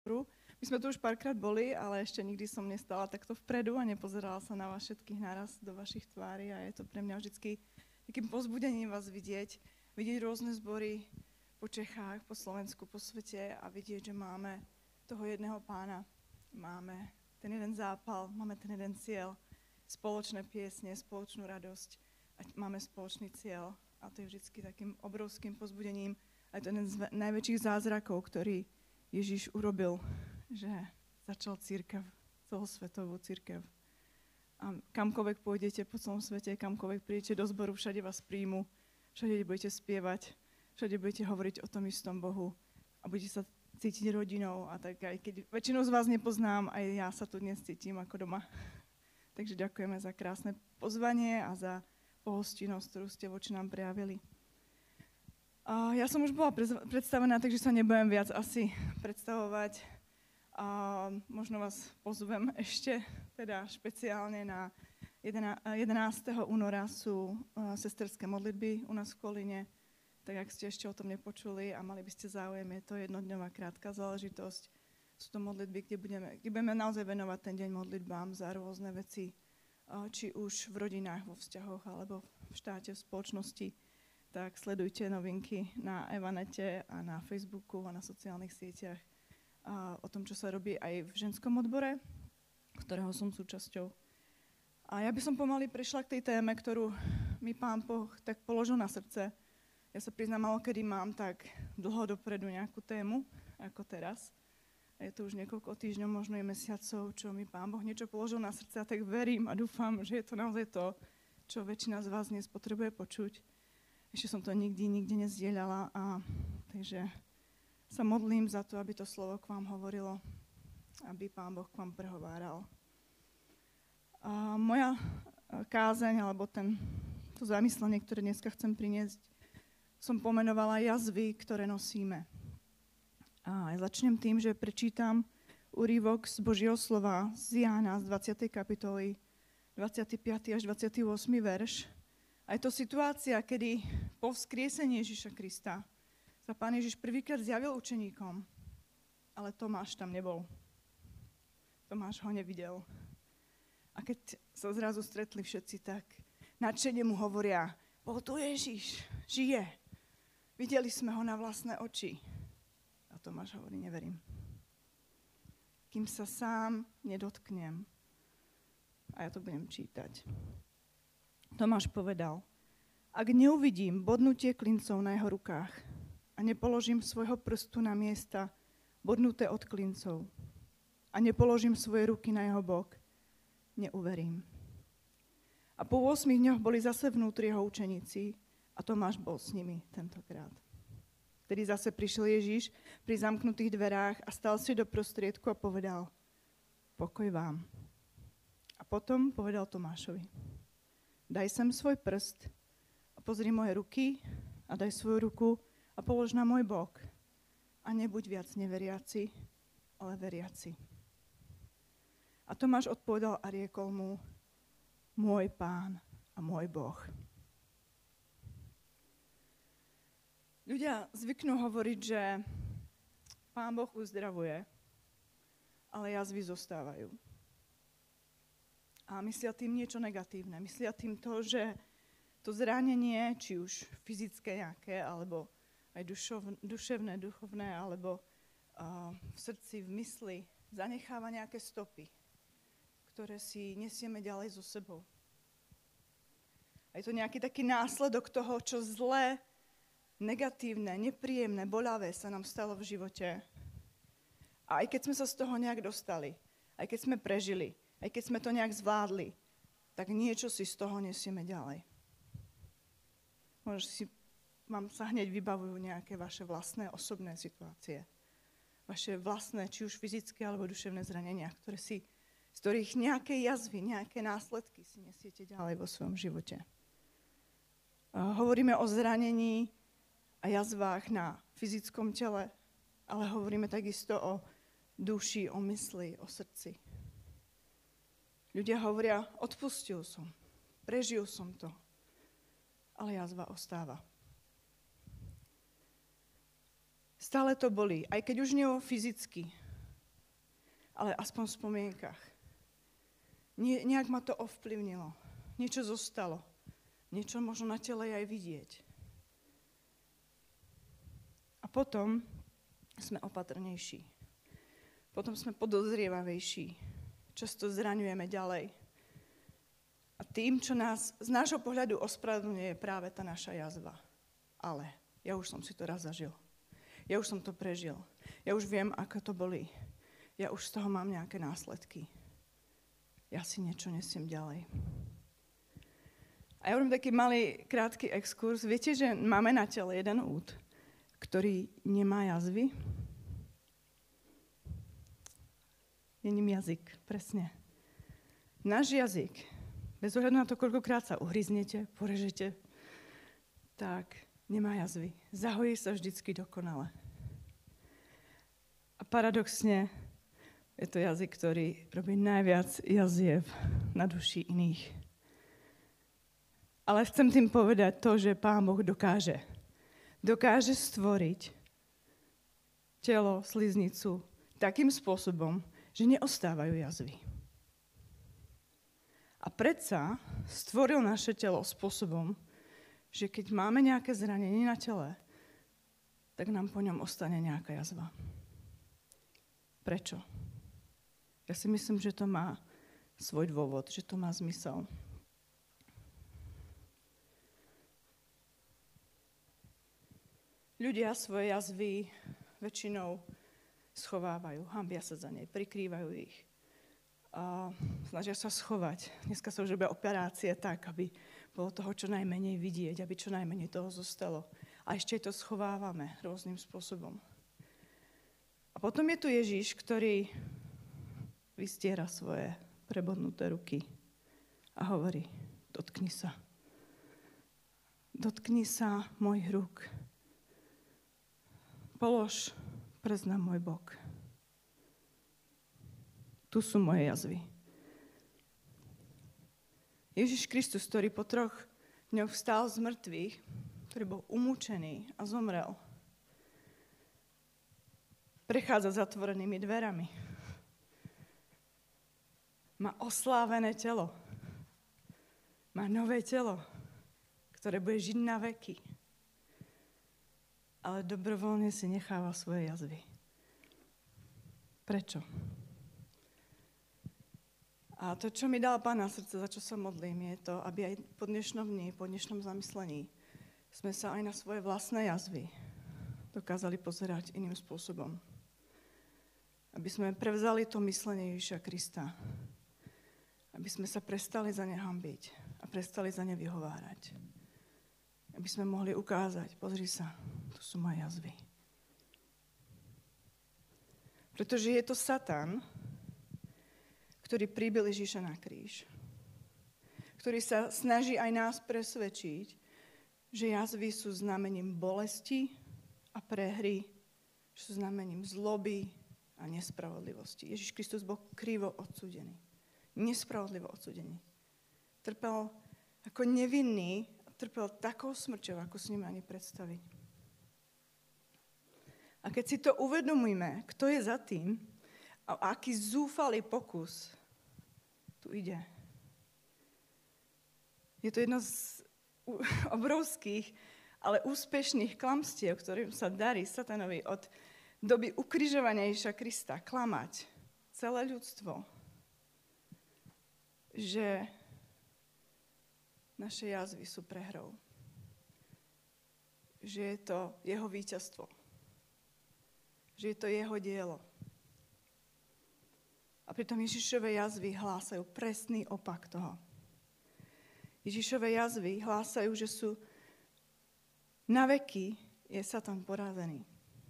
My sme tu už párkrát boli, ale ešte nikdy som nestala takto vpredu a nepozerala sa na vás všetkých naraz do vašich tvári a je to pre mňa vždycky takým povzbudením vás vidieť rôzne zbory po Čechách, po Slovensku, po svete a vidieť, že máme toho jedného Pána, máme ten jeden zápal, máme ten jeden cieľ, spoločné piesne, spoločnú radosť a máme spoločný cieľ a to je vždycky takým obrovským povzbudením a je to jeden z najväčších zázrakov, ktorý Ježiš urobil, že začal cirkev, celosvetovú cirkev. A kamkoľvek pôjdete po celom svete, kamkoľvek prídete do zboru, všade vás príjmu, všade budete spievať, všade budete hovoriť o tom istom Bohu a budete sa cítiť rodinou. A tak aj keď väčšinu z vás nepoznám, aj ja sa tu dnes cítim ako doma. Takže ďakujeme za krásne pozvanie a za pohostinnosť, ktorú ste voči nám prejavili. Ja som už bola predstavená, takže sa nebudem viac asi predstavovať. Možno vás pozvem ešte, teda špeciálne na 11. února sú sesterské modlitby u nás v Kolíne. Tak ak ste ešte o tom nepočuli a mali by ste záujem, je to jednodňová krátka záležitosť. Sú to modlitby, kde budeme naozaj venovať ten deň modlitbám za rôzne veci, či už v rodinách, vo vzťahoch, alebo v štáte, v spoločnosti. Tak sledujte novinky na Evanete a na Facebooku a na sociálnych sieťach o tom, čo sa robí aj v ženskom odbore, ktorého som súčasťou. A ja by som pomaly prešla k tej téme, ktorú mi Pán Boh tak položil na srdce. Ja sa priznám, malokedy mám tak dlho dopredu nejakú tému, ako teraz. A je to už niekoľko týždňov, možno aj mesiacov, čo mi Pán Boh niečo položil na srdce a tak verím a dúfam, že je to naozaj to, čo väčšina z vás dnes potrebuje počuť. Ešte som to nikde nezdieľala, takže sa modlím za to, aby to slovo k vám hovorilo, aby Pán Boh k vám prehováral. Moja kázeň, alebo to zamyslenie, ktoré dneska chcem priniesť, som pomenovala jazvy, ktoré nosíme. A začnem tým, že prečítam úryvok z Božieho slova z Jána z 20. kapitoly, 25. až 28. verš. A je to situácia, kedy po vzkriesení Ježiša Krista sa Pán Ježiš prvýkrát zjavil učeníkom, ale Tomáš tam nebol. Tomáš ho nevidel. A keď sa zrazu stretli všetci, tak nadšene mu hovoria, bol tu Ježiš, žije. Videli sme ho na vlastné oči. A Tomáš hovorí, neverím. Kým sa sám nedotknem. A ja to budem čítať. Tomáš povedal, ak neuvidím bodnutie klincov na jeho rukách a nepoložím svojho prstu na miesta bodnuté od klincov a nepoložím svoje ruky na jeho bok, neuverím. A po 8 dňoch boli zase vnútri jeho učeníci a Tomáš bol s nimi tentokrát. Vtedy zase prišiel Ježiš pri zamknutých dverách a stal si do prostriedku a povedal, pokoj vám. A potom povedal Tomášovi, daj sem svoj prst a pozri moje ruky a daj svoju ruku a polož na môj bok. A nebuď viac neveriaci, ale veriaci. A Tomáš odpovedal a riekol mu, môj Pán a môj Boh. Ľudia zvyknú hovoriť, že Pán Boh uzdravuje, ale jazvy zostávajú. A myslia tým niečo negatívne. Myslia tým to, že to zranenie, či už fyzické nejaké, alebo aj duševné, duchovné, alebo v srdci, v mysli, zanecháva nejaké stopy, ktoré si nesieme ďalej so sebou. A je to nejaký taký následok toho, čo zlé, negatívne, nepríjemné, bolavé sa nám stalo v živote. A aj keď sme sa z toho nejak dostali, aj keď sme prežili, aj keď sme to nejak zvládli, tak niečo si z toho nesieme ďalej. Možno vám sa hneď vybavujú nejaké vaše vlastné osobné situácie. Vaše vlastné, či už fyzické alebo duševné zranenia, z ktorých nejaké jazvy, nejaké následky si nesiete ďalej vo svojom živote. Hovoríme o zranení a jazvách na fyzickom tele, ale hovoríme takisto o duši, o mysli, o srdci. Ľudia hovoria, odpustil som, prežil som to, ale jazva ostáva. Stále to bolí, aj keď už nie fyzicky, ale aspoň v spomienkach. Nejak ma to ovplyvnilo. Niečo zostalo. Niečo možno na tele aj vidieť. A potom sme opatrnejší. Potom sme podozrievavejší. Často zraňujeme ďalej. A tým, čo nás z nášho pohľadu ospravedlňuje, je práve tá naša jazva. Ale ja už som si to raz zažil. Ja už som to prežil. Ja už viem, ako to bolí. Ja už z toho mám nejaké následky. Ja si niečo nesiem ďalej. A ja robím taký malý, krátky exkurs. Viete, že máme na tele jeden úd, ktorý nemá jazvy? Je ním jazyk, presne. Náš jazyk, bez ohľadu na to, koľkokrát sa uhryznete, porežete, tak nemá jazvy. Zahojí sa vždycky dokonale. A paradoxne je to jazyk, ktorý robí najviac jaziev na duši iných. Ale chcem tým povedať to, že Pán Boh dokáže. Dokáže stvoriť telo, sliznicu takým spôsobom, že neostávajú jazvy. A predsa stvoril naše telo spôsobom, že keď máme nejaké zranenie na tele, tak nám po ňom ostane nejaká jazva. Prečo? Ja si myslím, že to má svoj dôvod, že to má zmysel. Ľudia svoje jazvy väčšinou schovávajú, hanbia sa za nej, prikrývajú ich. A snažia sa schovať. Dneska sa už robia operácie tak, aby bolo toho čo najmenej vidieť, aby čo najmenej toho zostalo. A ešte to schovávame rôznym spôsobom. A potom je tu Ježiš, ktorý vystiera svoje prebodnuté ruky a hovorí, dotkni sa. Dotkni sa mojich rúk. Polož prst na môj bok. Tu sú moje jazvy. Ježiš Kristus, ktorý po 3 dňoch vstal z mŕtvych, ktorý bol umúčený a zomrel, prechádza zatvorenými dverami. Má oslávené telo. Má nové telo, ktoré bude žiť na veky. Ale dobrovoľne si necháva svoje jazvy. Prečo? A to, čo mi dal Pán na srdce, za čo sa modlím, je to, aby aj po dnešnom dni, po dnešnom zamyslení sme sa aj na svoje vlastné jazvy dokázali pozerať iným spôsobom. Aby sme prevzali to myslenie Ježiša Krista. Aby sme sa prestali za ne hanbiť a prestali za ne vyhovárať. Aby sme mohli ukázať, pozri sa, tu sú moje jazvy. Pretože je to Satan, ktorý pribil Ježiša na kríž. Ktorý sa snaží aj nás presvedčiť, že jazvy sú znamením bolesti a prehry, že sú znamením zloby a nespravodlivosti. Ježiš Kristus bol krivo odsúdený. Nespravodlivo odsúdený. Trpel ako nevinný, trpel takou smrťou, ako si ním ani predstaviť. A keď si to uvedomíme, kto je za tým a aký zúfalý pokus tu ide. Je to jedno z obrovských, ale úspešných klamstiev, ktorým sa darí Satanovi od doby ukrižovania Ježiša Krista klamať celé ľudstvo, že naše jazvy sú prehrou. Že je to jeho víťazstvo. Že je to jeho dielo. A pritom Ježišove jazvy hlásajú presný opak toho. Ježišove jazvy hlásajú, že sú na veky je Satan porazený.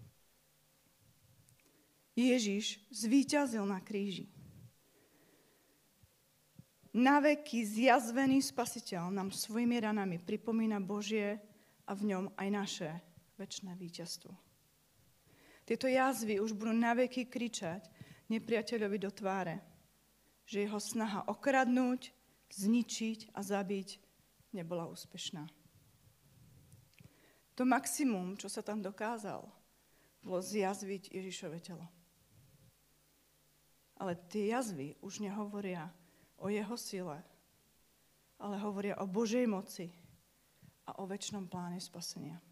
Ježiš zvíťazil na kríži. Na veky zjazvený Spasiteľ nám svojimi ranami pripomína Božie a v ňom aj naše večné víťazstvo. Tieto jazvy už budú na veky kričať nepriateľovi do tváre, že jeho snaha okradnúť, zničiť a zabiť nebola úspešná. To maximum, čo sa tam dokázal, bolo zjazviť Ježišove telo. Ale tie jazvy už nehovoria o jeho sile, ale hovoria o Božej moci a o večnom pláne spasenia.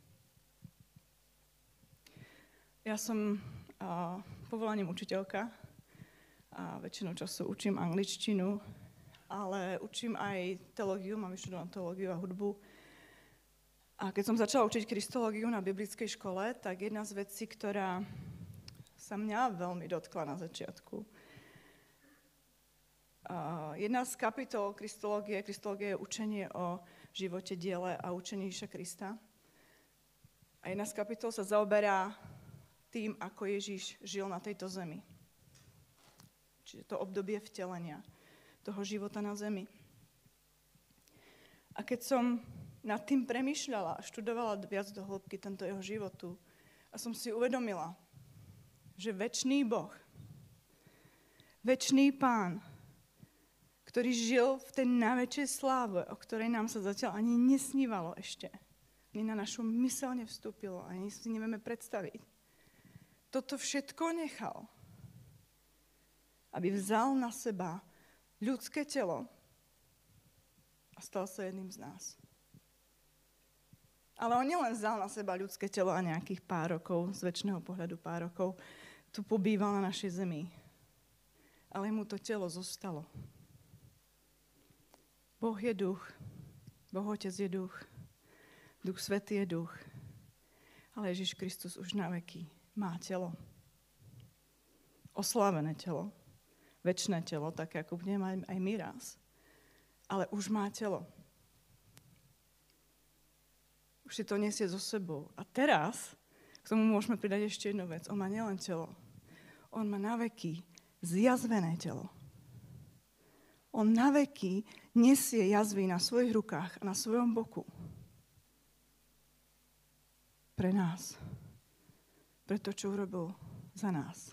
Ja som povolaním učiteľka a väčšinou času učím angličtinu, ale učím aj teológiu, mám vyštudovanú teológiu a hudbu. A keď som začala učiť kristológiu na biblickej škole, tak jedna z vecí, ktorá sa mňa veľmi dotkla na začiatku, jedna z kapitol kristológie je učenie o živote, diele a učení Ježiša Krista. A jedna z kapitol sa zaoberá tým, ako Ježiš žil na tejto zemi. Čiže to obdobie vtelenia, toho života na zemi. A keď som nad tým premýšľala a študovala viac do hĺbky tento jeho životu a som si uvedomila, že večný Boh, večný Pán, ktorý žil v tej najväčšej sláve, o ktorej nám sa zatiaľ ani nesnívalo ešte, ani na našu myseľ nevstúpilo, ani si nevieme predstaviť. Toto všetko nechal, aby vzal na seba ľudské telo a stal sa jedným z nás. Ale on nielen vzal na seba ľudské telo a nejakých pár rokov, z večného pohľadu pár rokov, tu pobýval na našej zemi. Ale mu to telo zostalo. Boh je duch, Boh Otec je duch, Duch Svätý je duch, ale Ježiš Kristus už na veky má telo. Oslávené telo. Večné telo, tak ako budeme aj my raz. Ale už má telo. Už si to nesie so sebou. A teraz k tomu môžeme pridať ešte jednu vec. On má nielen telo. On má na veky zjazvené telo. On na veky nesie jazvy na svojich rukách a na svojom boku. Pre nás. Pre to, čo urobil za nás.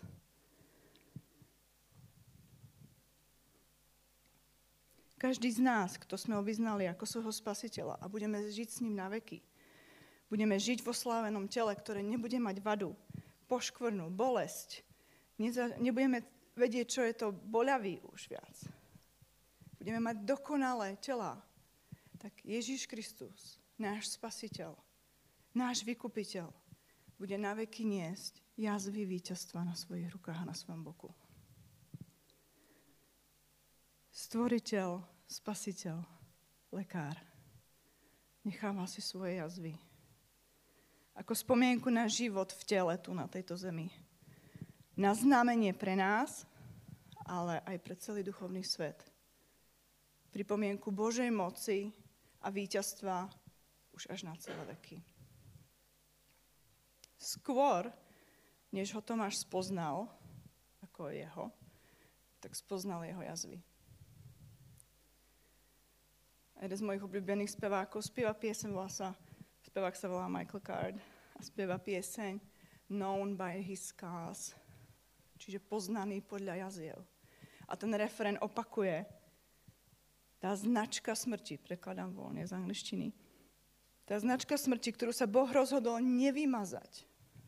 Každý z nás, kto sme ho vyznali ako svojho spasiteľa a budeme žiť s ním na veky, budeme žiť v oslávenom tele, ktoré nebude mať vadu, poškvrnu, bolesť, nebudeme vedieť, čo je to boľavý už viac. Budeme mať dokonalé tela. Tak Ježiš Kristus, náš spasiteľ, náš vykupiteľ, bude na veky niesť jazvy víťazstva na svojich rukách a na svojom boku. Stvoriteľ, spasiteľ, lekár. Necháva si svoje jazvy. Ako spomienku na život v tele tu na tejto zemi. Na znamenie pre nás, ale aj pre celý duchovný svet. Pripomienku Božej moci a víťazstva už až na celé veky. Skôr, než ho Tomáš spoznal, ako jeho, tak spoznal jeho jazvy. Jeden z mojich obľúbených spevákov spieva pieseň, spevák sa volá Michael Card a spieva pieseň Known by his scars, čiže poznaný podľa jaziev. A ten refrén opakuje, tá značka smrti, prekladám voľne z angličtiny, tá značka smrti, ktorú sa Boh rozhodol nevymazať.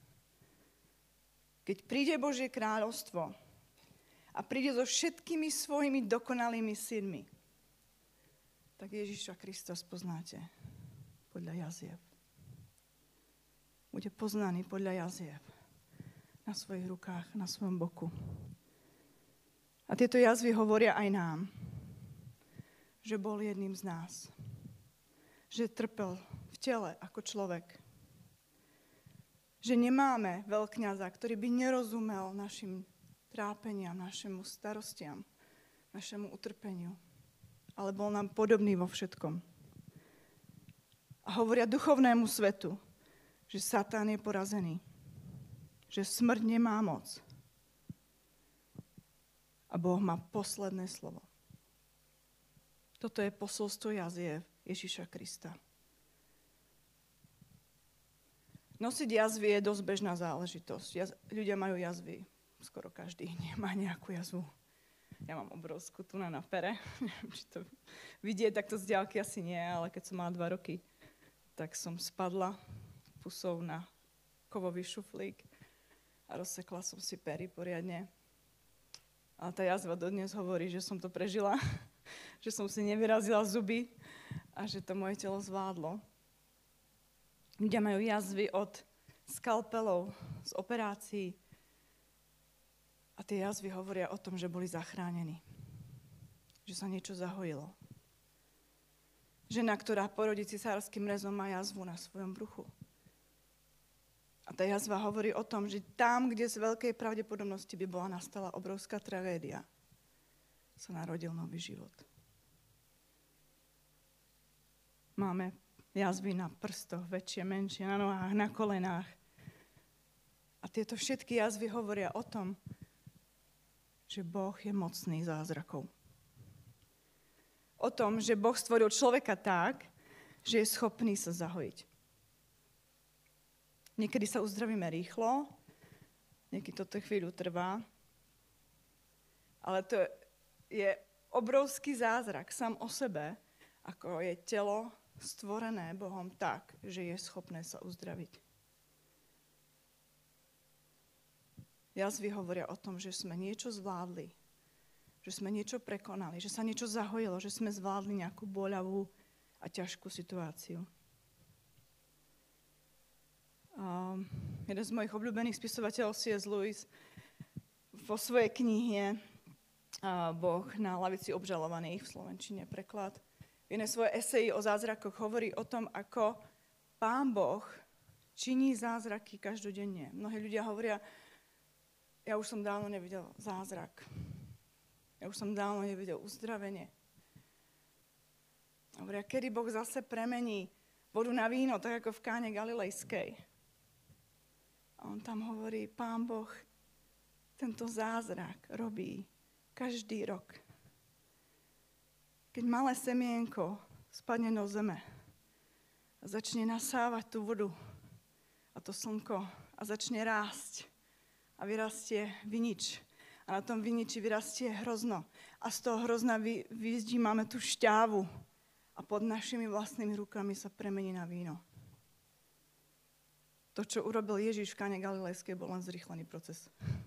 Keď príde Božie kráľovstvo a príde so všetkými svojimi dokonalými synmi, tak Ježiša Krista spoznáte podľa jaziev. Bude poznaný podľa jaziev na svojich rukách, na svojom boku. A tieto jazvy hovoria aj nám, že bol jedným z nás. Že trpel v tele ako človek. Že nemáme veľkňaza, ktorý by nerozumel našim trápeniam, našemu starostiam, našemu utrpeniu. Ale bol nám podobný vo všetkom. A hovoria duchovnému svetu, že Satan je porazený. Že smrť nemá moc. A Boh má posledné slovo. Toto je posolstvo jaziev Ježiša Krista. Nosiť jazvy je dosť bežná záležitosť. Ľudia majú jazvy. Skoro každý nemá nejakú jazvu. Ja mám obrovskú tu na pere. Neviem, či to vidieť takto z diaľky asi nie, ale keď som mala 2 roky, tak som spadla pusou na kovový šuflík a rozsekla som si pery poriadne. Ale tá jazva dodnes hovorí, že som to prežila, že som si nevyrazila zuby a že to moje telo zvládlo. Ľudia majú jazvy od skalpelov, z operácií. A tie jazvy hovoria o tom, že boli zachránení. Že sa niečo zahojilo. Žena, ktorá porodí cisárskym rezom, má jazvu na svojom bruchu. A tá jazva hovorí o tom, že tam, kde z veľkej pravdepodobnosti by bola nastala obrovská tragédia, sa narodil nový život. Máme jazvy na prstoch, väčšie, menšie, na nohách, na kolenách. A tieto všetky jazvy hovoria o tom, že Boh je mocný zázrakov. O tom, že Boh stvoril človeka tak, že je schopný sa zahojiť. Niekedy sa uzdravíme rýchlo, niekedy toto chvíľu trvá, ale to je obrovský zázrak sám o sebe, ako je telo stvorené Bohom tak, že je schopné sa uzdraviť. Jazvy hovoria o tom, že sme niečo zvládli, že sme niečo prekonali, že sa niečo zahojilo, že sme zvládli nejakú boľavú a ťažkú situáciu. Jeden z mojich obľúbených spisovateľov C.S. Lewis vo svojej knihe Boh na lavici obžalovaných, v slovenčine preklad, v jednej svojej eseji o zázrakoch hovorí o tom, ako Pán Boh činí zázraky každodenne. Mnohí ľudia hovoria, ja už som dávno nevidel zázrak. Ja už som dávno nevidel uzdravenie. Hovoria, kedy Boh zase premení vodu na víno, tak ako v Káne Galilejskej. A on tam hovorí, Pán Boh tento zázrak robí každý rok. Keď malé semienko spadne do zeme a začne nasávať tú vodu a to slnko a začne rásť a vyrastie vinič. A na tom viniči vyrastie hrozno. A z toho hrozna vyzdímame tú šťávu a pod našimi vlastnými rukami sa premení na víno. To, čo urobil Ježiš v Káne Galilejskej, bol len zrýchlený proces.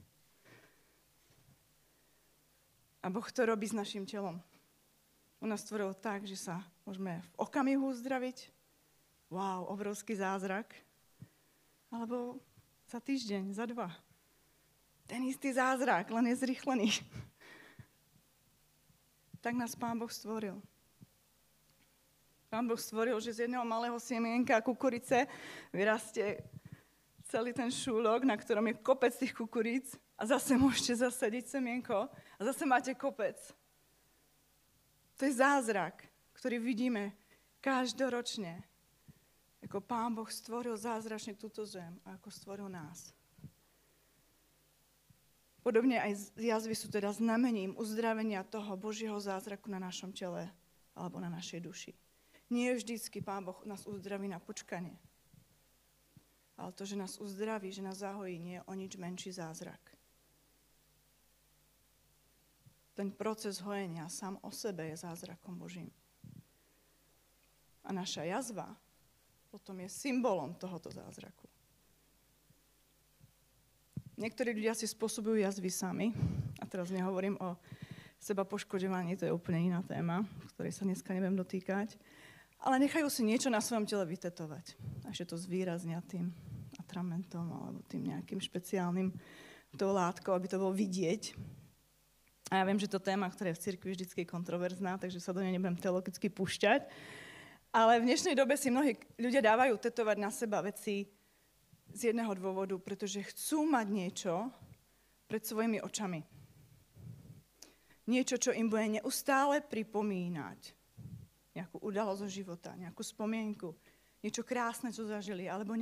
A Boh to robí s našim telom. On nás stvoril tak, že sa môžeme v okamihu uzdraviť. Wow, obrovský zázrak. Alebo za týždeň, za 2. Ten istý zázrak, len je zrýchlený. Tak nás Pán Boh stvoril. Pán Boh stvoril, že z jedného malého semienka kukurice vyrastie celý ten šúlok, na ktorom je kopec tých kukuríc a zase môžete zasadiť semienko a zase máte kopec. To je zázrak, ktorý vidíme každoročne. Ako Pán Boh stvoril zázračne túto zem a ako stvoril nás. Podobne aj jazvy sú teda znamením uzdravenia toho Božieho zázraku na našom tele alebo na našej duši. Nie vždycky Pán Boh nás uzdraví na počkanie. Ale to, že nás uzdraví, že nás zahojí, nie je o nič menší zázrak. Ten proces hojenia sám o sebe je zázrakom Božím. A naša jazva potom je symbolom tohoto zázraku. Niektorí ľudia si spôsobujú jazvy sami. A teraz nehovorím o seba poškoďovaní, to je úplne iná téma, ktorej sa dneska nebudem dotýkať. Ale nechajú si niečo na svojom tele vytetovať. A ešte to zvýraznia tým atramentom alebo tým nejakým špeciálnym tou látkou, aby to bolo vidieť. A ja viem, že to téma, ktorá je v cirkvi vždycky kontroverzná, takže sa do nej nebudem teologicky púšťať. Ale v dnešnej dobe si mnohí ľudia dávajú tetovať na seba veci z jedného dôvodu, pretože chcú mať niečo pred svojimi očami. Niečo, čo im bude neustále pripomínať nejakú udalosť zo života, nejakú spomienku, niečo krásne, čo zažili, alebo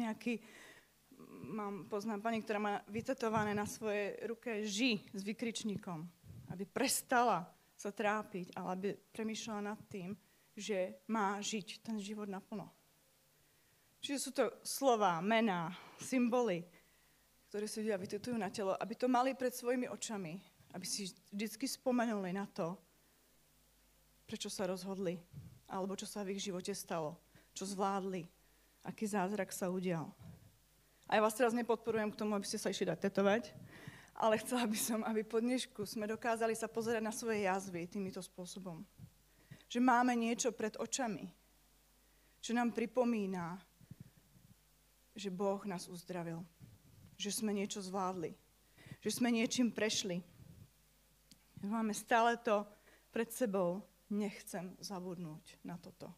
poznám pani, ktorá má vytetované na svojej ruke ži s vykričníkom, aby prestala sa trápiť, ale aby premýšľala nad tým, že má žiť ten život naplno. Čiže sú to slová, mená, symboly, ktoré si ľudia vytetujú na telo, aby to mali pred svojimi očami, aby si vždycky spomenuli na to, prečo sa rozhodli, alebo čo sa v ich živote stalo, čo zvládli, aký zázrak sa udial. A ja vás teraz nepodporujem k tomu, aby ste sa išli dať tetovať, Ale chcela by som, aby po dnešku sme dokázali sa pozerať na svoje jazvy týmito spôsobom. Že máme niečo pred očami. Že nám pripomína, že Boh nás uzdravil. Že sme niečo zvládli. Že sme niečím prešli. Máme stále to pred sebou. Nechcem zabudnúť na toto.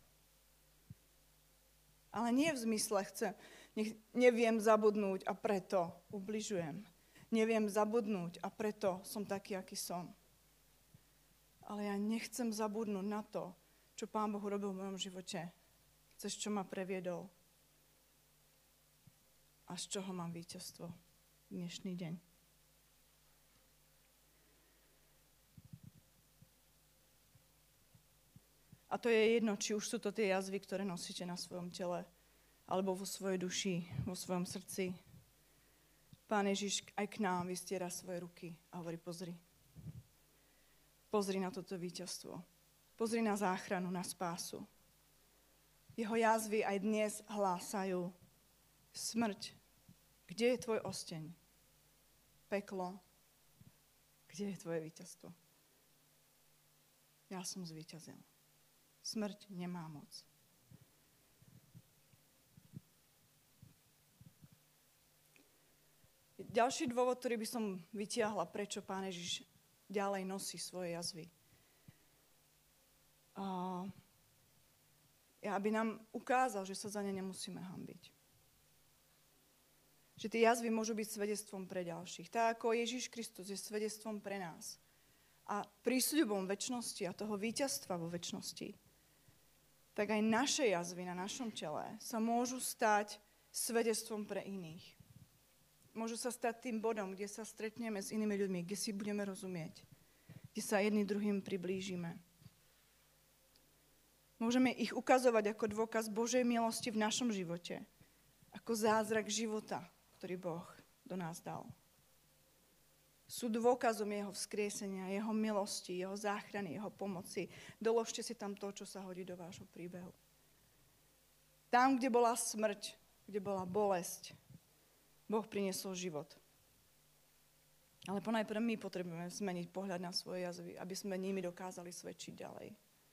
Ale nie v zmysle neviem zabudnúť a preto ubližujem. Neviem zabudnúť a preto som taký, aký som. Ale ja nechcem zabudnúť na to, čo Pán Boh urobil v mojom živote. Cez čo ma previedol. A z čoho mám víťazstvo dnešný deň. A to je jedno, či už sú to tie jazvy, ktoré nosíte na svojom tele, alebo vo svojej duši, vo svojom srdci. Pán Ježiš aj k nám vystiera svoje ruky a hovorí, pozri. Pozri na toto víťazstvo. Pozri na záchranu, na spásu. Jeho jazvy aj dnes hlásajú. Smrť, kde je tvoj osteň? Peklo, kde je tvoje víťazstvo? Ja som zvíťazil. Smrť nemá moc. Ďalší dôvod, ktorý by som vytiahla, prečo Pán Ježiš ďalej nosí svoje jazvy. Aby nám ukázal, že sa za ne nemusíme hanbiť. Že tie jazvy môžu byť svedectvom pre ďalších. Tak ako Ježiš Kristus je svedectvom pre nás. A prísľubom večnosti a toho víťazstva vo večnosti. Tak aj naše jazvy na našom tele sa môžu stať svedectvom pre iných. Môžu sa stať tým bodom, kde sa stretneme s inými ľuďmi, kde si budeme rozumieť, kde sa jedni druhým priblížime. Môžeme ich ukazovať ako dôkaz Božej milosti v našom živote, ako zázrak života, ktorý Boh do nás dal. Sú dôkazom jeho vzkriesenia, jeho milosti, jeho záchrany, jeho pomoci. Doložte si tam to, čo sa hodí do vášho príbehu. Tam, kde bola smrť, kde bola bolesť, Boh priniesol život. Ale ponajprv my potrebujeme zmeniť pohľad na svoje jazvy, aby sme nimi dokázali svedčiť ďalej.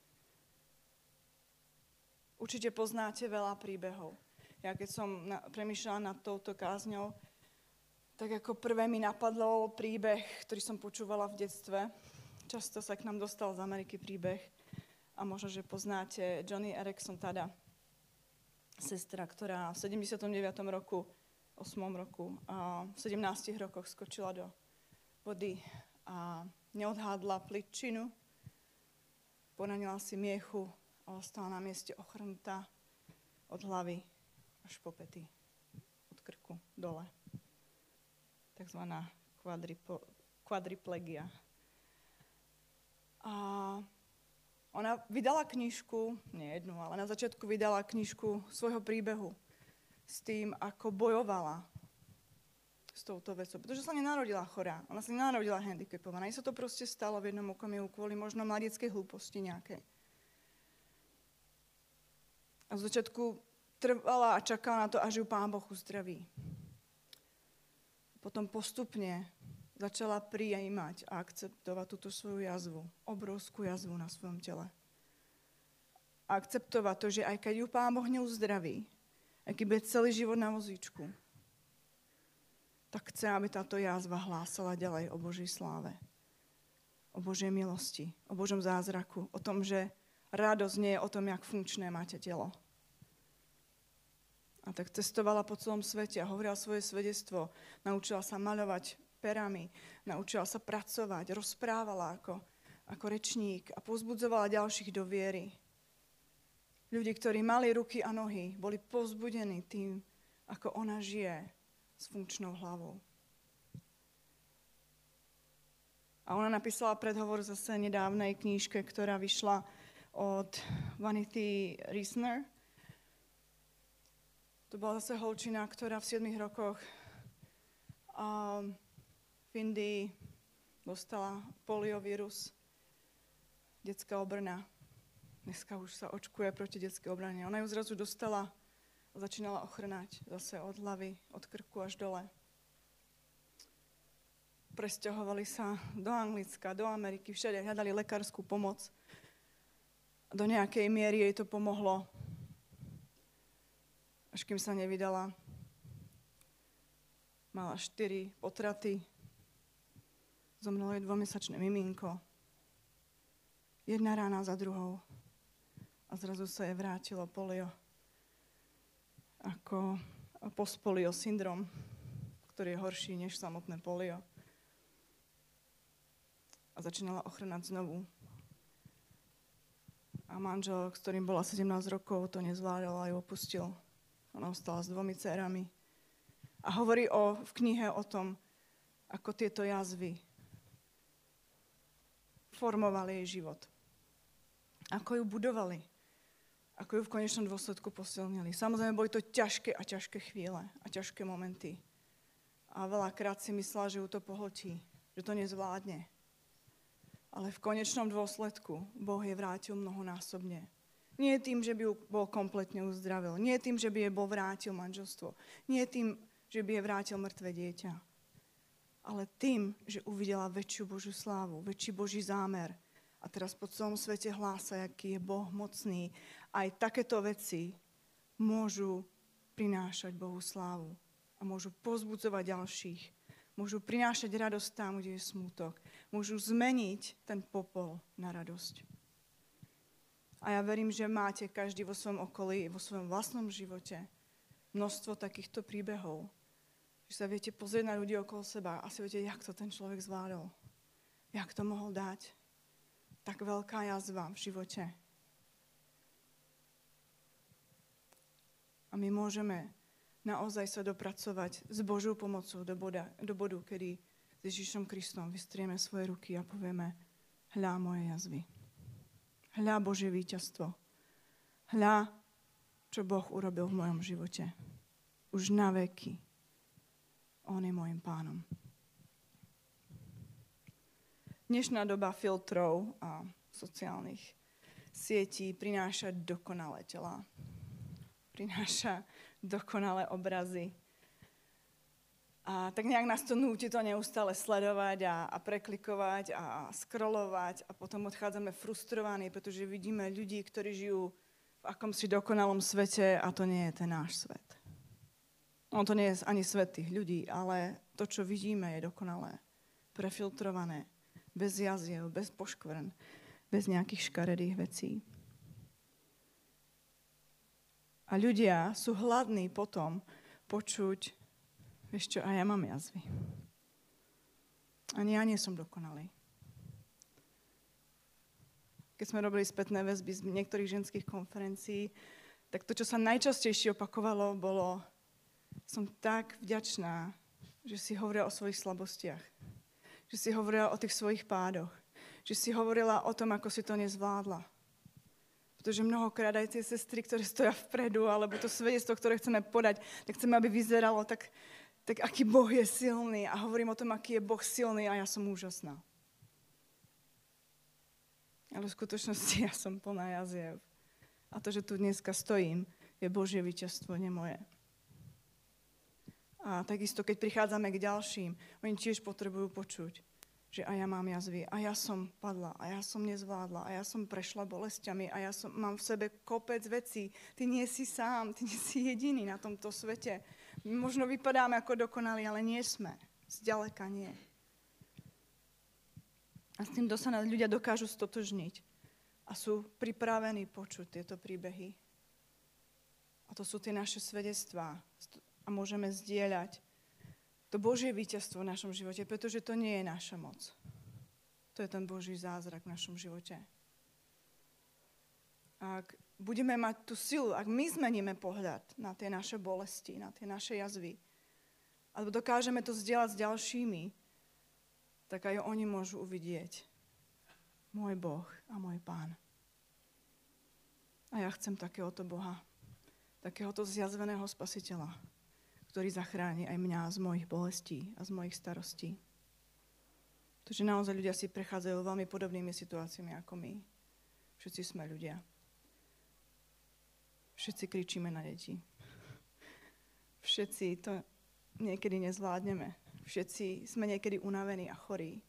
Určite poznáte veľa príbehov. Ja keď som premýšľala nad touto kázňou, tak ako prvé mi napadlo príbeh, ktorý som počúvala v detstve. Často sa k nám dostal z Ameriky príbeh. A možno, že poznáte Joni Eareckson Tada, sestra, ktorá v 79. roku, 8. roku, a v 17 rokoch skočila do vody a neodhádla pličinu, poranila si miechu a ostala na mieste ochrnutá od hlavy až po pety, od krku dole. Takzvaná kvadriplegia. A ona vydala knižku, nie jednu, ale na začiatku vydala knižku svojho príbehu s tým, ako bojovala s touto vecou. Pretože sa nenarodila chorá, ona sa nenarodila handicapovaná. Jej sa to proste stalo v jednom okamihu kvôli možno mladieckej hlúposti nejakej. A z začiatku trvala a čakala na to, až ju Pán Boh uzdraví. Potom postupne začala prijímať a akceptovať túto svoju jazvu, obrovskú jazvu na svojom tele. A akceptovať to, že aj keď ju Pán Boh neuzdraví, aj keď bude celý život na vozíčku, tak chce, aby táto jazva hlásala ďalej o Božej sláve, o Božej milosti, o Božom zázraku, o tom, že radosť nie je o tom, jak funkčné máte telo. A tak cestovala po celom svete a hovorila svoje svedectvo. Naučila sa maľovať perami, naučila sa pracovať, rozprávala ako rečník a povzbudzovala ďalších do viery. Ľudí, ktorí mali ruky a nohy, boli povzbudení tým, ako ona žije s funkčnou hlavou. A ona napísala predhovor zase nedávnej knížke, ktorá vyšla od Vanity Reisner. To bola zase holčina, ktorá v 7 rokoch v Indii dostala poliovírus, detská obrna. Dneska už sa očkuje proti detskej obrane. Ona ju zrazu dostala a začínala ochrnať zase od hlavy, od krku až dole. presťahovali sa do Anglicka, do Ameriky, všade hľadali lekárskú pomoc. Do nejakej miery jej to pomohlo, až kým sa nevydala. Mala 4 potraty, zomrelo jej 2-mesačné miminko. Jedna rána za druhou. A zrazu sa jej vrátilo polio. Ako postpolio syndrom, ktorý je horší než samotné polio. A začínala ochrnať znovu. A manžel, s ktorým bola 17 rokov, to nezvládal a ju opustil. Ona ostala s 2 dcérami. A hovorí v knihe o tom, ako tieto jazvy formovali jej život. Ako ju budovali. Ako ju v konečnom dôsledku posilnili. Samozrejme, boli to ťažké a ťažké chvíle a ťažké momenty. A veľakrát si myslela, že ju to pohltí, že to nezvládne. Ale v konečnom dôsledku Boh jej vrátil mnohonásobne. Nie tým, že by ju bol kompletne uzdravil. Nie tým, že by jej bol vrátil manželstvo. Nie tým, že by jej vrátil mŕtve dieťa. Ale tým, že uvidela väčšiu Božiu slávu, väčší Boží zámer. A teraz po celom svete hlása, aký je Boh mocný. Aj takéto veci môžu prinášať Bohu slávu. A môžu povzbudzovať ďalších. Môžu prinášať radosť tam, kde je smútok. Môžu zmeniť ten popol na radosť. A ja verím, že máte každý vo svojom okolí, vo svojom vlastnom živote množstvo takýchto príbehov. Že sa viete pozrieť na ľudí okolo seba a si viete, jak to ten človek zvládol. Jak to mohol dať. Tak veľká jazva v živote. A my môžeme naozaj sa dopracovať s Božou pomocou do bodu, kedy s Ježišom Kristom vystrieme svoje ruky a povieme, hľa moje jazvy. Hľa Božie víťazstvo. Hľa, čo Boh urobil v mojom živote. Už na veky. On je môjim pánom. Dnešná doba filtrov a sociálnych sietí prináša dokonalé telá. Prináša dokonalé obrazy. A tak nejak nás to núti to neustále sledovať a preklikovať a scrollovať a potom odchádzame frustrovaní, pretože vidíme ľudí, ktorí žijú v akomsi dokonalom svete a to nie je ten náš svet. No to nie je ani svet tých ľudí, ale to, čo vidíme, je dokonalé. Prefiltrované, bez jaziev, bez poškvrn, bez nejakých škaredých vecí. A ľudia sú hladní potom počuť, vieš čo, a ja mám jazvy. Ani ja nie som dokonalý. Keď sme robili spätné väzby z niektorých ženských konferencií, tak to, čo sa najčastejšie opakovalo, bolo, som tak vďačná, že si hovorila o svojich slabostiach. Že si hovorila o tých svojich pádoch. Že si hovorila o tom, ako si to nezvládla. Pretože mnohokrát aj tie sestry, ktoré stoja vpredu, alebo to svedectvo, ktoré chceme podať, tak chceme, aby vyzeralo tak aký Boh je silný. A hovorím o tom, aký je Boh silný a ja som úžasná. Ale v skutočnosti ja som plná jaziev. A to, že tu dneska stojím, je Božie víťazstvo, nie moje. A takisto, keď prichádzame k ďalším, oni tiež potrebujú počuť, že aj ja mám jazvy, a ja som padla, a ja som nezvládla, a ja som prešla bolestiami, a ja mám v sebe kopec vecí. Ty nie si sám, ty nie si jediný na tomto svete. My možno vypadáme ako dokonalí, ale nie sme. Zďaleka nie. A s tým sa ľudia dokážu stotožniť a sú pripravení počuť tieto príbehy. A to sú tie naše svedectvá. A môžeme zdieľať to Božie víťazstvo v našom živote, pretože to nie je naša moc. To je ten Boží zázrak v našom živote. Ak budeme mať tú silu, ak my zmeníme pohľad na tie naše bolesti, na tie naše jazvy, alebo dokážeme to zdieľať s ďalšími, tak aj oni môžu uvidieť môj Boh a môj Pán. A ja chcem takéhoto Boha, takéhoto zjazveného Spasiteľa, ktorý zachráni aj mňa z mojich bolestí a z mojich starostí. Pretože naozaj ľudia si prechádzajú veľmi podobnými situáciami ako my. Všetci sme ľudia. Všetci kričíme na deti. Všetci to niekedy nezvládneme. Všetci sme niekedy unavení a chorí.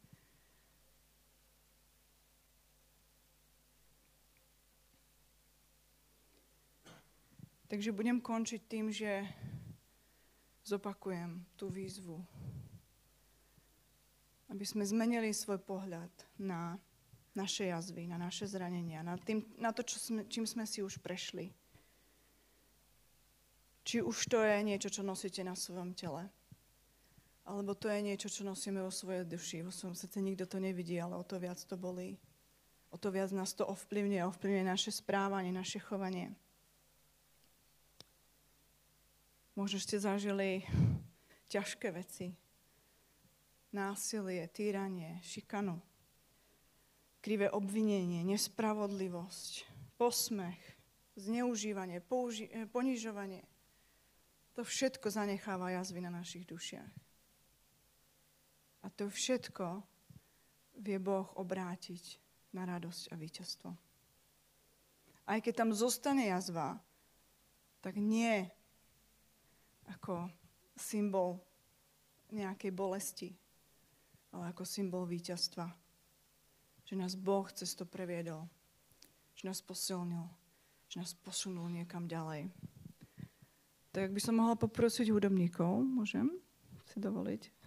Takže budem končiť tým, že zopakujem tú výzvu. Aby sme zmenili svoj pohľad na naše jazvy, na naše zranenia, na to, čím sme si už prešli. Či už to je niečo, čo nosíte na svojom tele, alebo to je niečo, čo nosíme vo svojej duši, vo svojom srdci. Nikto to nevidí, ale o to viac to bolí. O to viac nás to ovplyvňuje naše správanie, naše chovanie. Možno ste zažili ťažké veci. Násilie, týranie, šikanu, krivé obvinenie, nespravodlivosť, posmech, zneužívanie, ponižovanie. To všetko zanecháva jazvy na našich dušiach. A to všetko vie Boh obrátiť na radosť a víťazstvo. Aj keď tam zostane jazva, tak nie ako symbol nejakej bolesti, ale ako symbol víťazstva. Že nás Boh cez to previedol, že nás posilnil, že nás posunul niekam ďalej. Tak by som mohla poprosiť hudobníkov, môžem si dovoliť,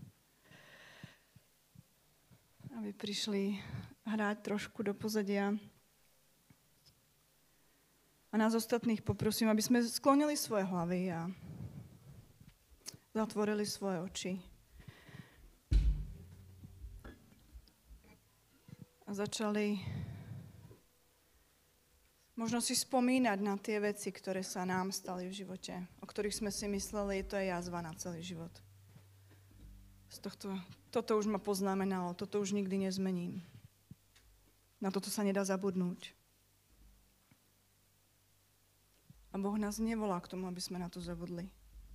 aby prišli hrať trošku do pozadia. A nás ostatných poprosím, aby sme sklonili svoje hlavy a zatvorili svoje oči. A začali možno si spomínať na tie veci, ktoré sa nám stali v živote, o ktorých sme si mysleli, to je jazva na celý život. Toto už ma poznamenalo, toto už nikdy nezmením. Na toto sa nedá zabudnúť. A Boh nás nevolá k tomu, aby sme na to zabudli.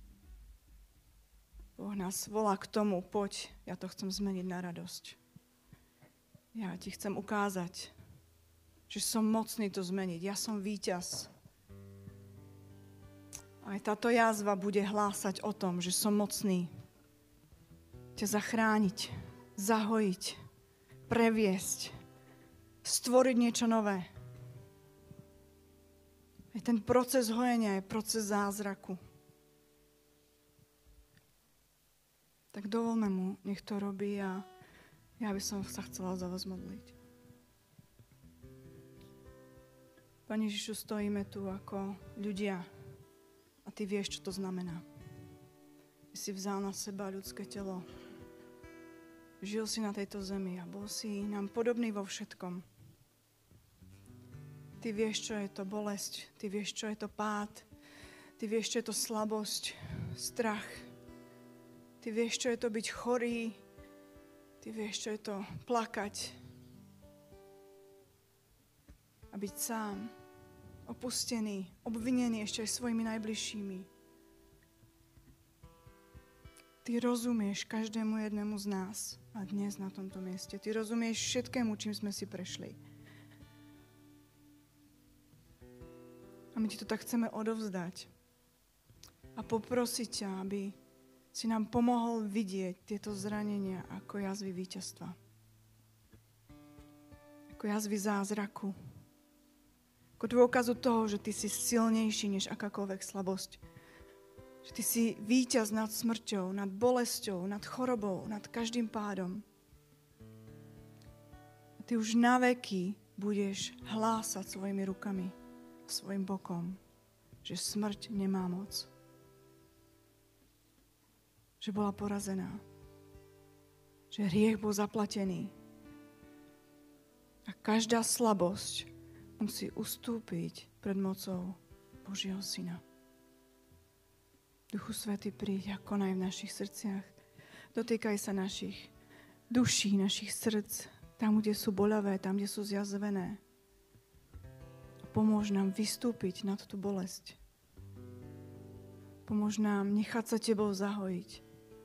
Boh nás volá k tomu, poď, ja to chcem zmeniť na radosť. Ja ti chcem ukázať, že som mocný to zmeniť. Ja som víťaz. Aj táto jazva bude hlásať o tom, že som mocný ťa zachrániť, zahojiť, previesť, stvoriť niečo nové. Aj ten proces hojenia je proces zázraku. Tak dovolme mu, nech to robí a ja by som sa chcela za vás modliť. Pane Ježišu, stojíme tu ako ľudia a ty vieš, čo to znamená. Ty si vzal na seba ľudské telo. Žil si na tejto zemi a bol si nám podobný vo všetkom. Ty vieš, čo je to bolesť. Ty vieš, čo je to pád. Ty vieš, čo je to slabosť, strach. Ty vieš, čo je to byť chorý. Ty vieš, čo je to plakať. A byť sám, opustený, obvinený ešte aj svojimi najbližšími. Ty rozumieš každému jednému z nás a dnes na tomto mieste. Ty rozumieš všetkému, čím sme si prešli. A my ti to tak chceme odovzdať. A poprosiť ťa, aby si nám pomohol vidieť tieto zranenia ako jazvy víťazstva. Ako jazvy zázraku. Ako dôkazu toho, že ty si silnejší než akákoľvek slabosť. Že ty si víťaz nad smrťou, nad bolesťou, nad chorobou, nad každým pádom. A ty už na veky budeš hlásať svojimi rukami, svojim bokom, že smrť nemá moc. Že bola porazená. Že hriech bol zaplatený. A každá slabosť musí ustúpiť pred mocou Božieho Syna. Duchu Svätý, príď a konaj v našich srdciach. Dotýkaj sa našich duší, našich srdc, tam, kde sú boľavé, tam, kde sú zjazvené. Pomôž nám vystúpiť nad tú bolesť. Pomôž nám nechať sa tebou zahojiť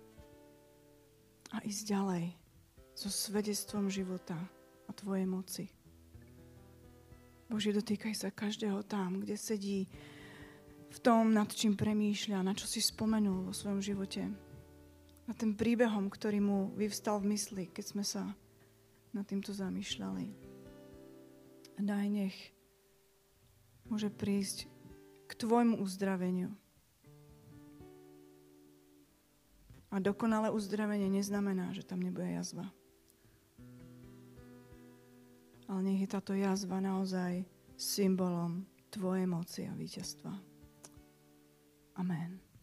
a ísť ďalej so svedectvom života a tvojej moci. Bože, dotýkaj sa každého tam, kde sedí v tom, nad čím premýšľa, na čo si spomenul vo svojom živote. a tým príbehom, ktorý mu vyvstal v mysli, keď sme sa nad týmto zamýšľali. A daj, nech môže prísť k tvojmu uzdraveniu. A dokonalé uzdravenie neznamená, že tam nebude jazva. Ale nech je táto jazva naozaj symbolom tvojej moci a víťazstva. Amen.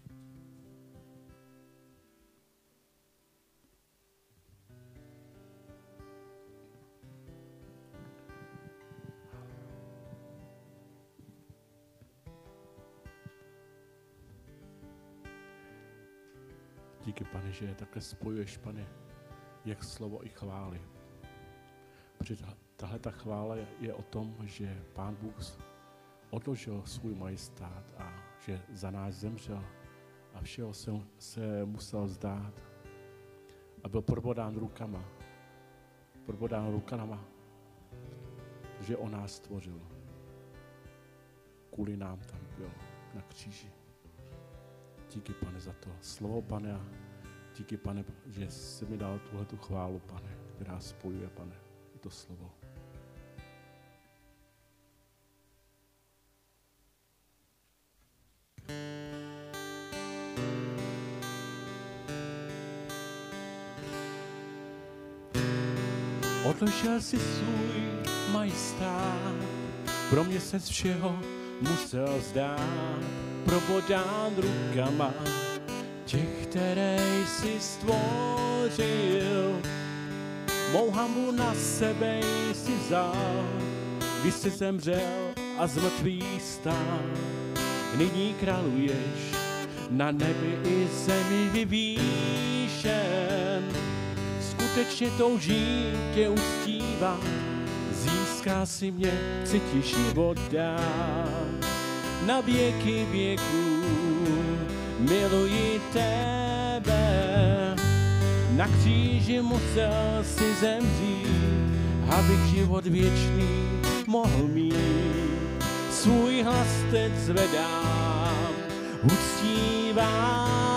Díky, Pane, že takhle spojuješ, Pane, jak slovo i chvály. Protože tahle ta chvála je o tom, že Pán Bůh odložil svůj majestát a že za nás zemřel a všeho se musel vzdát a byl probodán rukama, že on nás stvořil. Kvůli nám tam byl na kříži. Díky, Pane, za to slovo, Pane, a díky, Pane, že jsi mi dal tuhletu chválu, Pane, která spojuje, Pane, i to slovo. Odložil si svůj majestát, pro mě se z všeho musel vzdát, probodán rukama těch, které jsi stvořil. Mou hanbu na sebe jsi vzal, když jsi zemřel a z mrtvých stál. Nyní králuješ na nebi i zemi vyvýšen. Skutečně toužím tě uctívat, získá si mě, chci ti život dát. Na věky věků miluji tebe, na kříži musel si zemřít, abych život věčný mohl mít. Svůj hlas teď zvedám, uctívání.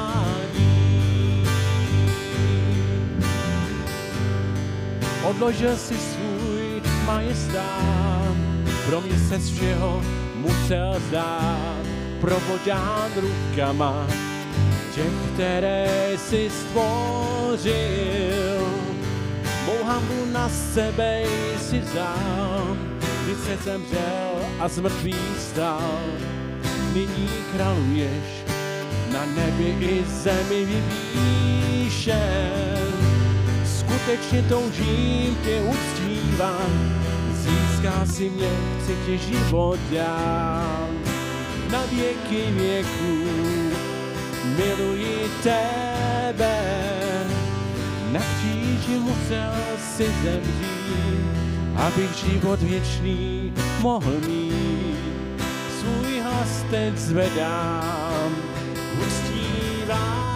Odložil si svůj majestát, pro mě se z všeho musel vzdát, probodán rukama těch, které jsi stvořil. Mou hanbu na sebe jsi vzal, když jsi zemřel a z mrtvých stál. Nyní králuješ na nebi i zemi vyvýšen. Skutečně toužím tě uctívat, získá si mě, chci ti život dát. Na věky věků miluji tebe, na kříži musel si zemřít, abych život věčný mohl mít. Svůj hlas teď zvedám, uctívám.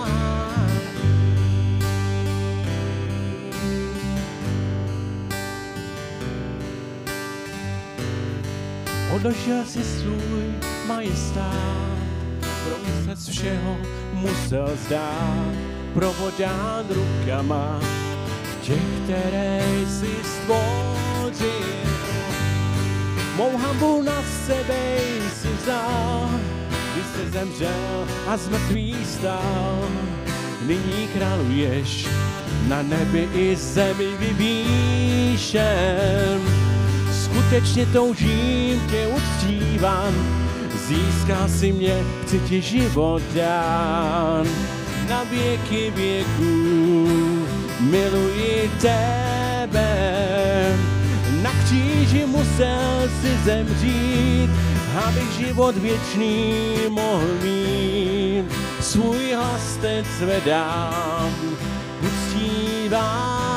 Odložil si svůj majestát, pro mě se z všeho musel vzdát, probodán rukama těch, které jsi stvořil. Mou hanbu na sebe jsi vzal, když jsi zemřel a z mrtvých stál. Nyní králuješ na nebi i zemi vyvýšen. Skutečně toužím tě uctívat, získá si mě, chci ti život dát. Na věky věků miluji tebe, na kříži musel si zemřít, abych život věčný mohl mít. Svůj hlas teď zvedám, uctívám.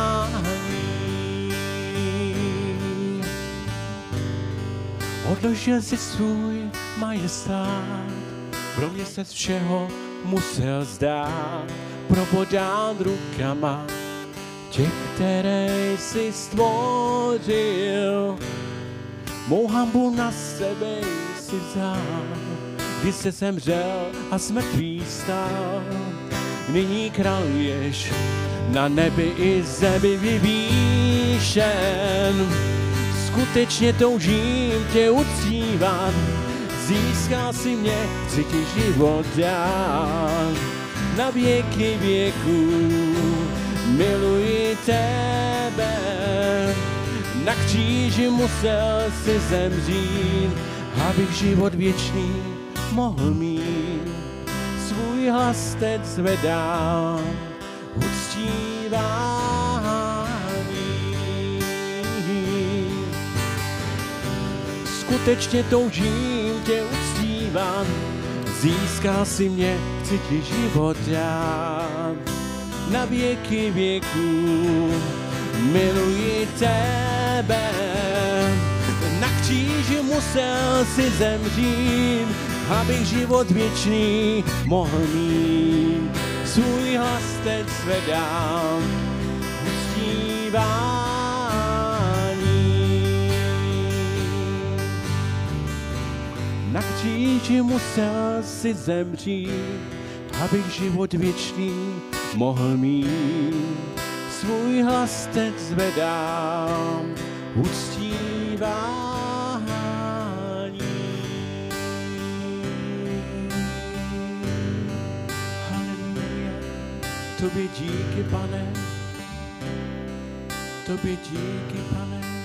Odložil si svůj majestát, pro mě se z všeho musel vzdát, probodán rukama těch, které jsi stvořil. Mou hanbu na sebe jsi vzal, když se zemřel a z mrtvých stál. nyní králuješ na nebi i zemi vyvýšen. Skutečně toužím tě uctívat, získal si mě, chci ti život dát. Na věky věků miluji tebe, na kříži musel si zemřít, abych život věčný mohl mít. Svůj hlas teď zvedám, uctívání. Skutečně toužím tě uctívat, získal si mě, chci ti život dát. Na věky věků miluji tebe, na kříži musel si zemřít, abych život věčný mohl mít. Svůj hlas teď zvedám, uctívání. Na kříži musel si zemřít, abych život věčný mohl mít. Svůj hlas teď zvedám, uctívání. Tobě díky, Pane, tobě díky, Pane.